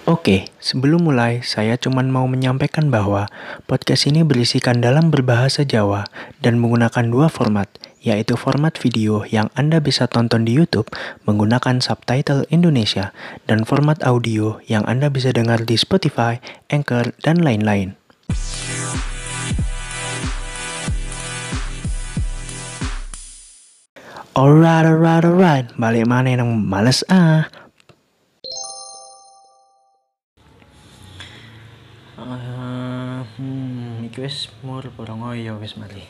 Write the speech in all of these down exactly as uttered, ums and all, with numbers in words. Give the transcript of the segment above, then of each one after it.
Oke, sebelum mulai, saya cuma mau menyampaikan bahwa podcast ini berisikan dalam berbahasa Jawa dan menggunakan dua format, yaitu format video yang Anda bisa tonton di YouTube menggunakan subtitle Indonesia dan format audio yang Anda bisa dengar di Spotify, Anchor, dan lain-lain. Alright, alright, alright, balik mana yang males ah. Uh, hmm, iki wis mur porong ya wis mari.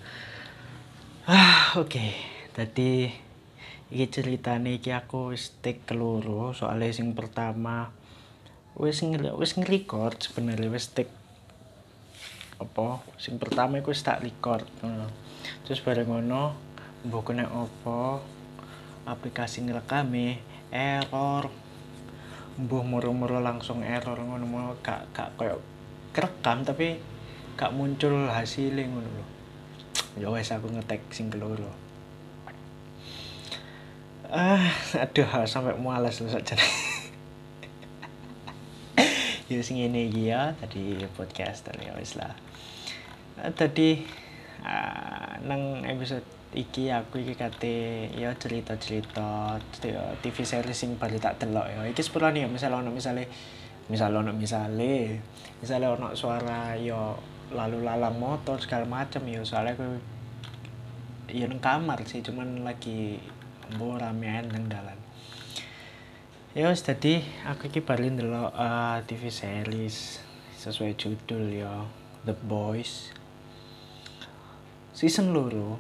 Ah, oke. Okay. Tadi iki ceritane iki aku wis take keloro, soalnya sing pertama wis nge wis nge-record sebenarnya wis take apa? Sing pertama iku wis tak record. Uh. Terus bareng ngono mbok nek apa aplikasi ngerekame error. Mbuh moro-moro langsung error ngono gak gak koyo kerekam tapi gak muncul hasilnya ngono lho. Ya wes aku ngetek sing keloro. Ah, aduh sampai mualas lho sakjane. Ya sing ngene iki ya tadi podcaster ya wis lah. Uh, tadi uh, nang episode iki aku iki kate ya cerita-cerita T V series sing baru tak delok ya. Iki sepurane ya misal ono misale misal ono misale misale ono suara ya lalu lalang motor segala macam ya soalnya aku ya nang kamar sih cuman lagi mbo ramean nang dalan. Ya wis dadi aku iki baru ndelok uh, T V series sesuai judul ya The Boys season loro.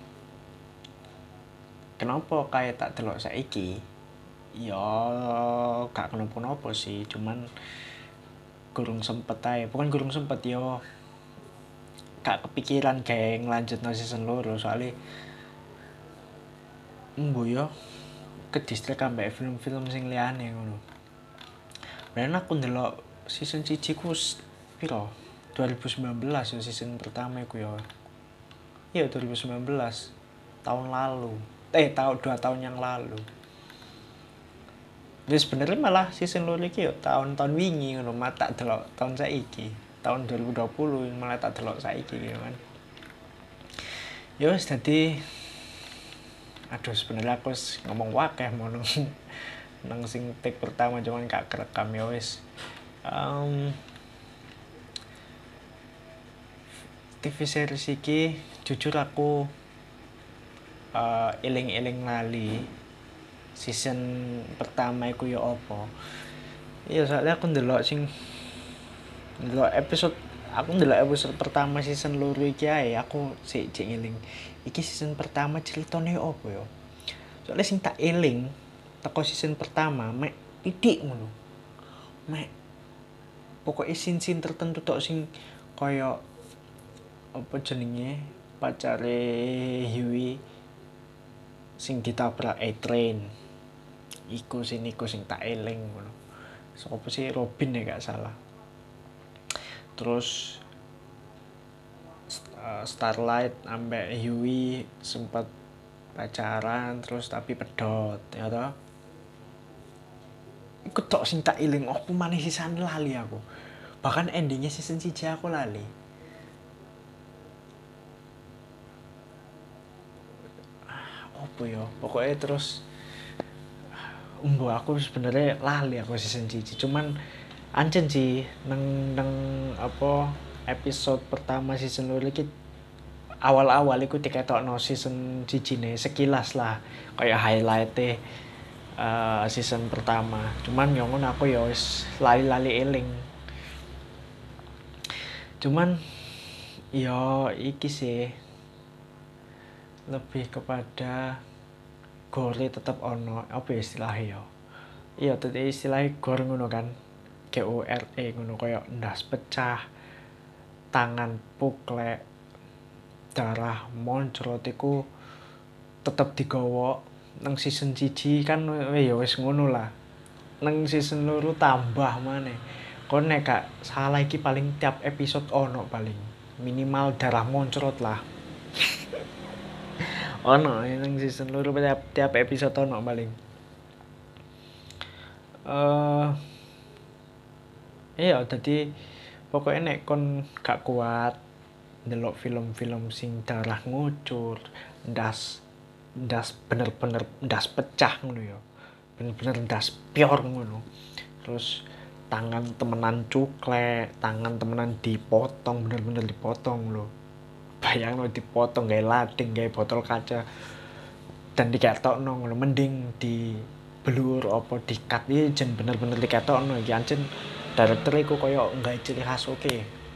Kenapa kayak tak delok saiki? Ya gak kenapa-napa sih, cuman gurung sempet ae. Bukan gurung sempet yo. Gak kepikiran kayak ngelanjutno season loro soalnya mbo yo kedistrek ambek film-film sing liyane ngono. Ben aku ndelok season siji ku piro? dua ribu sembilan belas yo season pertama iku yo. Iya dua ribu sembilan belas tahun lalu. Eh tahun dua tahun yang lalu. Jadi sebenarnya malah season loro iki yo tahun-tahun wingi ngono mata delok tahun saiki. Tahun dua ribu dua puluh malah tak delok saiki gitu kan. Ya wis dadi aduh sebenarnya aku ngomong wakeh mau nang nang sing take pertama cuman gak kerekam ya wis. Um, T V series iki jujur aku uh, eling-eling lali season pertama iku ya apa. Iya soalnya aku ndelok sing ndelok episode aku ndelok episode pertama season loro iki ae aku sik jek ngeling. Iki season pertama ceritane apa ya? Soalnya sing tak eling teko season pertama mek titik ngono. Mek pokoknya scene-scene tertentu tok sing kaya apa jenenge pacare Huey sing ditabrak A-Train iku sing iku sing tak eling ngono. Sopo sih Robin ya gak salah. Terus uh, Starlight ambek Huey sempat pacaran terus tapi pedot ya toh. Iku tok sing tak eling opo maneh sisan lali aku. Bahkan endingnya season siji aku lali. Apa ya pokoknya terus umbo aku sebenarnya lali aku season siji cuman ancen sih nang nang apa episode pertama season loro iki awal-awal iku diketokno season siji ne sekilas lah kayak highlight-e uh, season pertama cuman yo ngono aku ya wis lali-lali eling cuman yo iki sih lebih kepada gore tetap ono apa istilahnya ya iya tadi istilahnya gore ngono kan G O R E ngono kayak ndas pecah tangan puklek darah moncrot iku tetep digawa nang season siji kan ya wis ngono lah nang season loro tambah maneh kon nek gak salah iki paling tiap episode ono paling minimal darah moncrot lah ono nang season loro tiap, tiap episode ono paling. Eh uh, Iya, dadi pokoke nek kon gak kuat ndelok film-film sing darah ngucur, ndas ndas bener-bener ndas pecah ngono ya. Bener-bener ndas pior ngono. Terus tangan temenan cuklek, tangan temenan dipotong, bener-bener dipotong lho. Bayangno dipotong gawe lading, gawe botol kaca dan diketokno ngono, mending diblur apa di-cut iki jen bener-bener diketokno iki ancen director iku koyo nggawe ciri khas oke.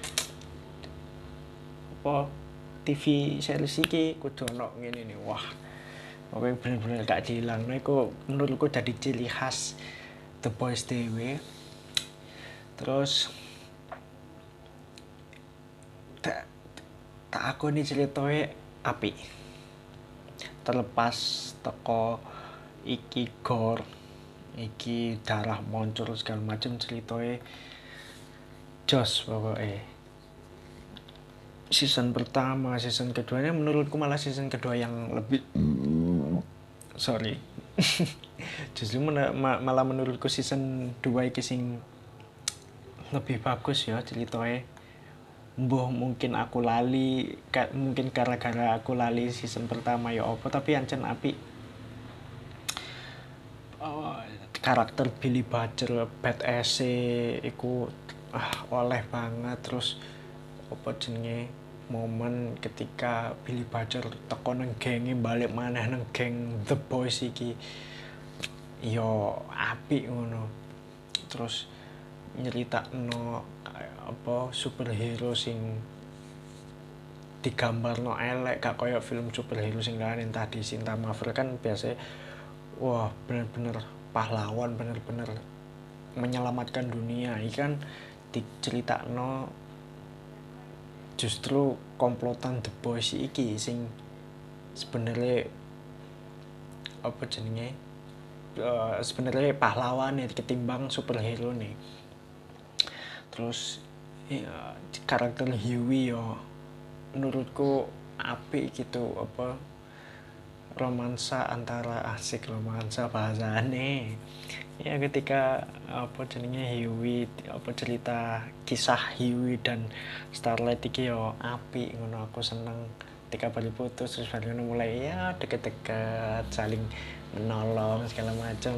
Apa T V series iki kudu ono ngene nih. Wah, pokoknya bener-bener gak dihilangno iku menurutku dadi ciri khas The Boys dhewe. Terus tak tak akoni ceritoe apik. Terlepas teko iki gore, iki darah muncul segala macam ceritoe jos pokoknya. Season pertama, season keduanya menurutku malah season kedua yang lebih sorry justru men- ma- malah menurutku season dua iki sing lebih bagus ya ceritoe. Mbuh mungkin aku lali ka- mungkin gara-gara aku lali season pertama ya apa, tapi ancen apik. Oh, karakter Billy Butcher badass iku ah oleh banget. Terus apa jenenge momen ketika Billy Butcher teko nang genge balik maneh nang geng The Boys iki yo apik ngono. Terus nyeritakno apa superhero sing digambarno elek gak koyo film superhero sing lain tadi Cinta Marvel kan biasa wah bener-bener pahlawan, bener-bener menyelamatkan dunia. Iki kan diceritakno justru komplotan The Boys iki sing sebenarnya apa jenenge uh, sebenarnya pahlawan ya ketimbang superhero nih. Terus ya, karakter Huey yo menurutku apik gitu, apa romansa antara asik romansa bahasane ya ketika apa jenenge Huey apa cerita kisah Huey dan Starlight iki yo apik ngono. Aku seneng ketika baru putus terus baru mulai ya deket-deket saling menolong segala macam.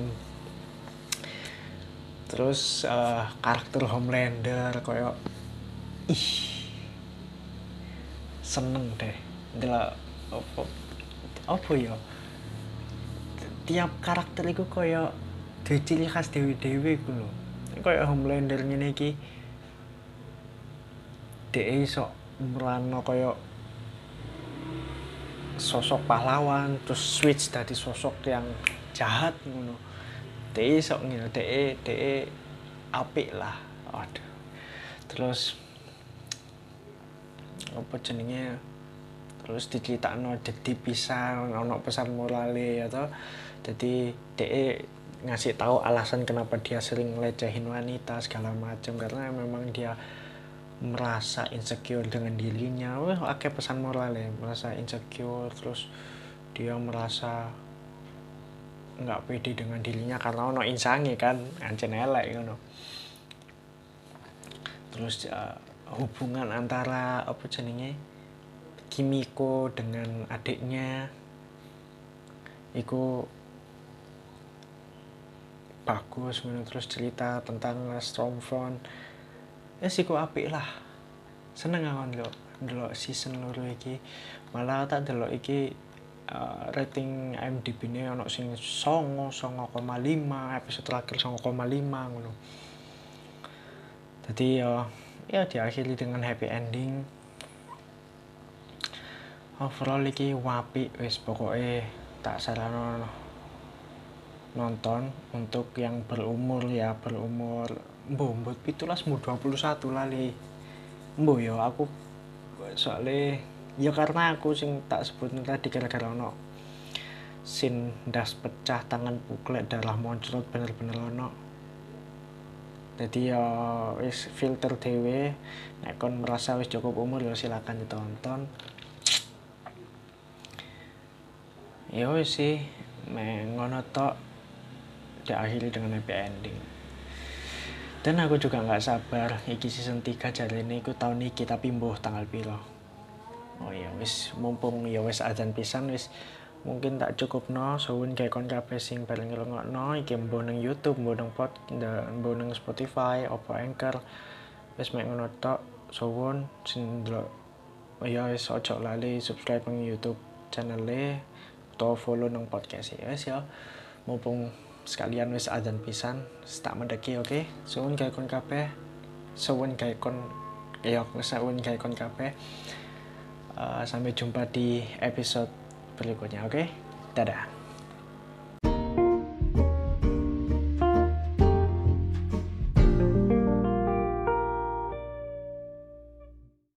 Terus uh, karakter Homelander koyo ih seneng deh ndelok apa apa ya tiap karakter iku koyo duwe ciri khas dewe-dewe iku lho. Koyo Homelander ngene iki dhek iso merano koyo sosok pahlawan terus switch dadi sosok yang jahat ngono. Dhek iso ngene, dhek dhek apik lah. Aduh. Terus apa jenenge terus diceritakno dadi pisan ono pesan morale atau jadi dhek ngasih tahu alasan kenapa dia sering ngelecehin wanita segala macam karena memang dia merasa insecure dengan dirinya. Wah, akeh pesan moral ya, merasa insecure terus dia merasa nggak pede dengan dirinya karena ono insange kan, ancen elek ngono. Terus uh, hubungan antara apa jenenge Kimiko dengan adiknya iku bagus ngono. Terus cerita tentang Stormfront ya sih kok apik lah, seneng aku ndelok ndelok season loro iki. Malah tak ndelok iki uh, rating I M D B-ne ono sing songo koma lima, episode terakhir songo koma lima ngono. Jadi ya ya diakhiri dengan happy ending. Overall iki apik wis pokoke tak saranno nonton untuk yang berumur ya berumur mbuh mbuh pitulas mbuh dua puluh satu lali mbuh ya aku soalnya ya karena aku sing tak sebut tadi gara-gara ono sin ndas pecah tangan puklek darah moncrot bener-bener ono. Jadi ya wis filter dhewe nek kon merasa wis cukup umur ya silakan ditonton. Ya wis sih men ngono tok diakhiri dengan happy ending. Dan aku juga nggak sabar iki season tiga jarene iku tahun iki tapi mbuh tanggal piro. Oh iya wis mumpung ya wis adzan pisan wis mungkin tak cukupno suwun gawe kon kabeh sing bareng ngrungokno iki mbuh nang YouTube, mbuh nang pod, mbuh nang Spotify, opo Anchor. Wis mek ngono tok suwun sing ndelok. Oh ya wis ojo lali subscribe nang YouTube channel-e atau follow nang podcast ya wis ya. Mumpung sekalian wis adzan pisan, tak mendeki oke. Okay? Suwun gawe kon kabeh. Suwun gawe kon ya suwun gawe kon kabeh. Uh, sampai jumpa di episode berikutnya, oke? Okay? Dadah.